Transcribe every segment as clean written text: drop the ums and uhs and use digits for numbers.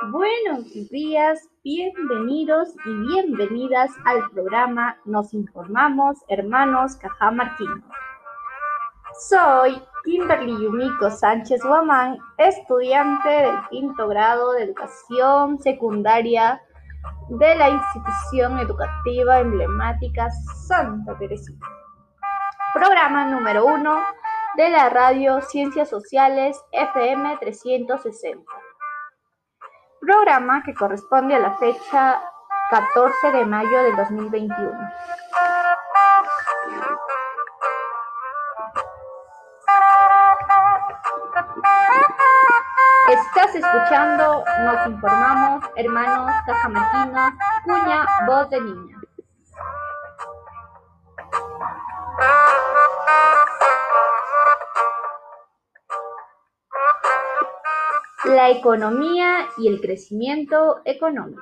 Buenos días, bienvenidos y bienvenidas al programa Nos Informamos, Hermanos Cajamarquinos. Soy Kimberly Yumiko Sánchez Guamán, estudiante del quinto grado de educación secundaria de la institución educativa emblemática Santa Teresita. Programa número 1 de la radio Ciencias Sociales FM 360. Programa que corresponde a la fecha 14 de mayo del 2021. Estás escuchando Nos Informamos, Hermanos Cajamarquinos, cuña Voz de Niña. La economía y el crecimiento económico.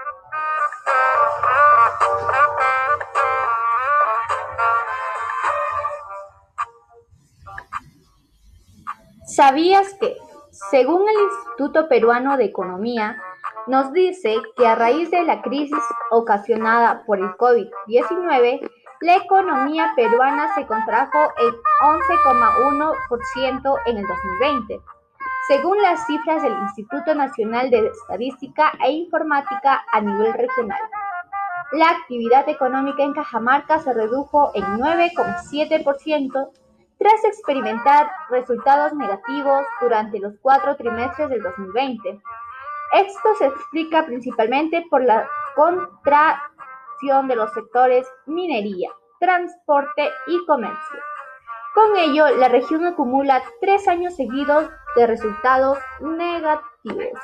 ¿Sabías que, según el Instituto Peruano de Economía, nos dice que a raíz de la crisis ocasionada por el COVID-19, la economía peruana se contrajo en 11,1% en el 2020? Según las cifras del Instituto Nacional de Estadística e Informática a nivel regional, la actividad económica en Cajamarca se redujo en 9,7% tras experimentar resultados negativos durante los 4 trimestres del 2020. Esto se explica principalmente por la contracción de los sectores minería, transporte y comercio. Con ello, la región acumula 3 años seguidos de resultados negativos.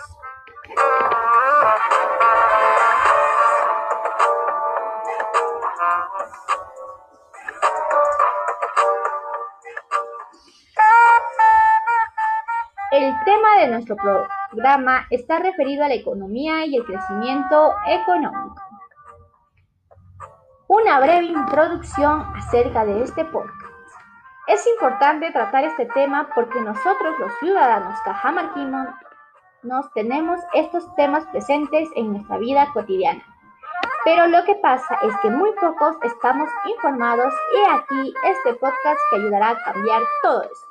El tema de nuestro programa está referido a la economía y el crecimiento económico. Una breve introducción acerca de este podcast. Es importante tratar este tema porque nosotros, los ciudadanos cajamarquinos, tenemos estos temas presentes en nuestra vida cotidiana. Pero lo que pasa es que muy pocos estamos informados y aquí este podcast que ayudará a cambiar todo eso.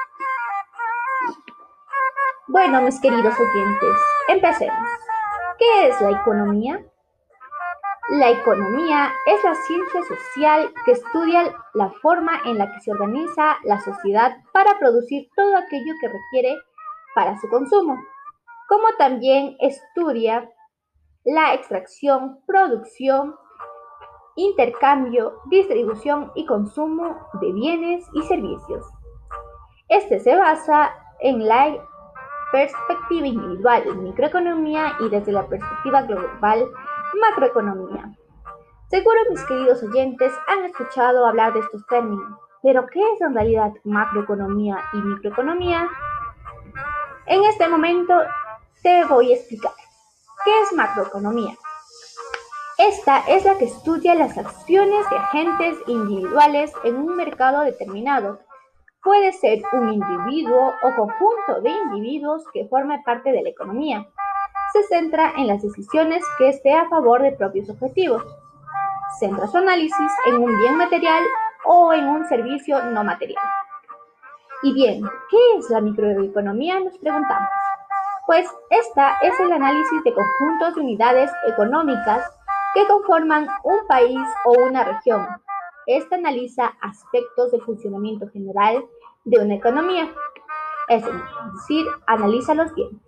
Bueno, mis queridos oyentes, empecemos. ¿Qué es la economía? La economía es la ciencia social que estudia la forma en la que se organiza la sociedad para producir todo aquello que requiere para su consumo, como también estudia la extracción, producción, intercambio, distribución y consumo de bienes y servicios. Este se basa en la perspectiva individual, microeconomía, y desde la perspectiva global, macroeconomía. Seguro mis queridos oyentes han escuchado hablar de estos términos, pero ¿qué es en realidad macroeconomía y microeconomía? En este momento te voy a explicar. ¿Qué es macroeconomía? Esta es la que estudia las acciones de agentes individuales en un mercado determinado. Puede ser un individuo o conjunto de individuos que forma parte de la economía. Se centra en las decisiones que esté a favor de propios objetivos. Centra su análisis en un bien material o en un servicio no material. Y bien, ¿qué es la microeconomía? Nos preguntamos. Pues esta es el análisis de conjuntos de unidades económicas que conforman un país o una región. Esta analiza aspectos del funcionamiento general de una economía, es decir, analiza los bienes.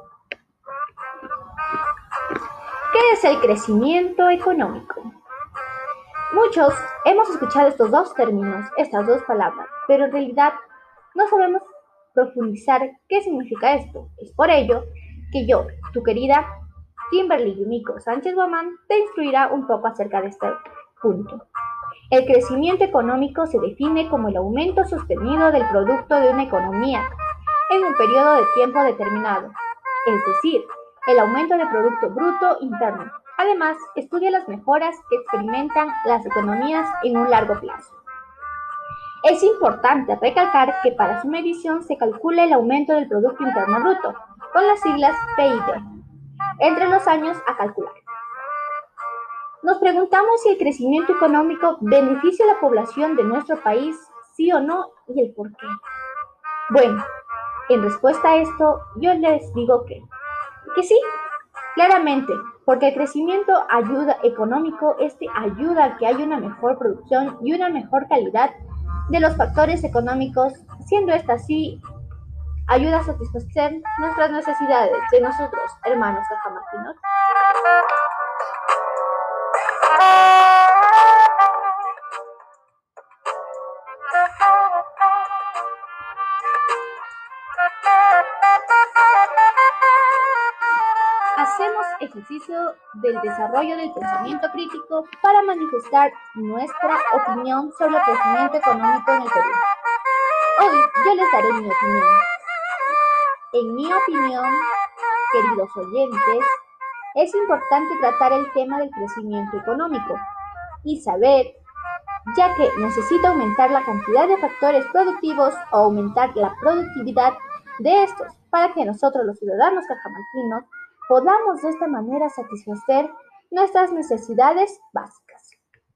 ¿Qué es el crecimiento económico? Muchos hemos escuchado estos dos términos, estas dos palabras, pero en realidad no sabemos profundizar qué significa esto. Es por ello que yo, tu querida Kimberly Yumiko Sánchez Guamán, te instruirá un poco acerca de este punto. El crecimiento económico se define como el aumento sostenido del producto de una economía en un periodo de tiempo determinado, es decir, el aumento del Producto Bruto Interno. Además, estudia las mejoras que experimentan las economías en un largo plazo. Es importante recalcar que para su medición se calcula el aumento del Producto Interno Bruto, con las siglas PIB. entre los años a calcular. Nos preguntamos si el crecimiento económico beneficia a la población de nuestro país, sí o no, y el por qué. Bueno, en respuesta a esto, yo les digo que sí, claramente, porque el crecimiento económico ayuda a que haya una mejor producción y una mejor calidad de los factores económicos, siendo esta así, ayuda a satisfacer nuestras necesidades de nosotros, hermanos cajamarquinos. Hacemos ejercicio del desarrollo del pensamiento crítico para manifestar nuestra opinión sobre el crecimiento económico en el Perú. Hoy yo les daré mi opinión. En mi opinión, queridos oyentes, es importante tratar el tema del crecimiento económico y saber, ya que necesita aumentar la cantidad de factores productivos o aumentar la productividad de estos para que nosotros los ciudadanos cajamarquinos podamos de esta manera satisfacer nuestras necesidades básicas.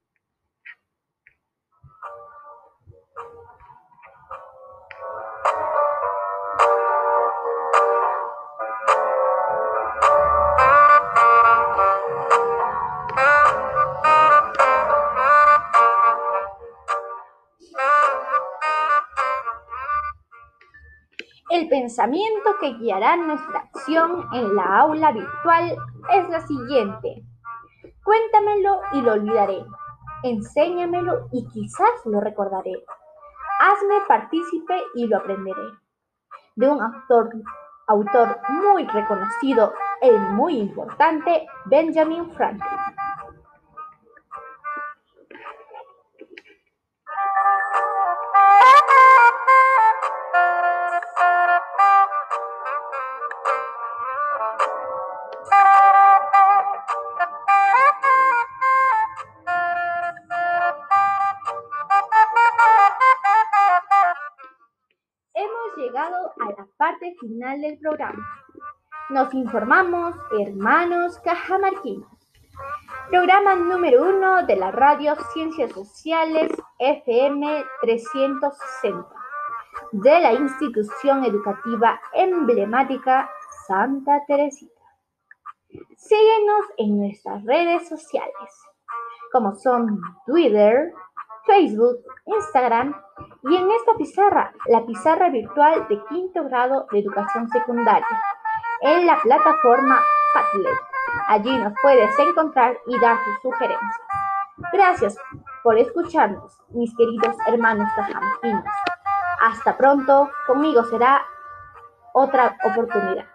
El pensamiento que guiará nuestra acción en la aula virtual es la siguiente. Cuéntamelo y lo olvidaré. Enséñamelo y quizás lo recordaré. Hazme partícipe y lo aprenderé. De un autor muy reconocido y muy importante, Benjamin Franklin. Hemos llegado a la parte final del programa. Nos informamos, hermanos cajamarquinos. Programa número 1 de la radio Ciencias Sociales FM 360 de la institución educativa emblemática Santa Teresita. Síguenos en nuestras redes sociales, como son Twitter, Facebook, Instagram y en esta pizarra, la pizarra virtual de quinto grado de educación secundaria, en la plataforma Padlet. Allí nos puedes encontrar y dar tus sugerencias. Gracias por escucharnos, mis queridos hermanos cajamarquinos. Hasta pronto, conmigo será otra oportunidad.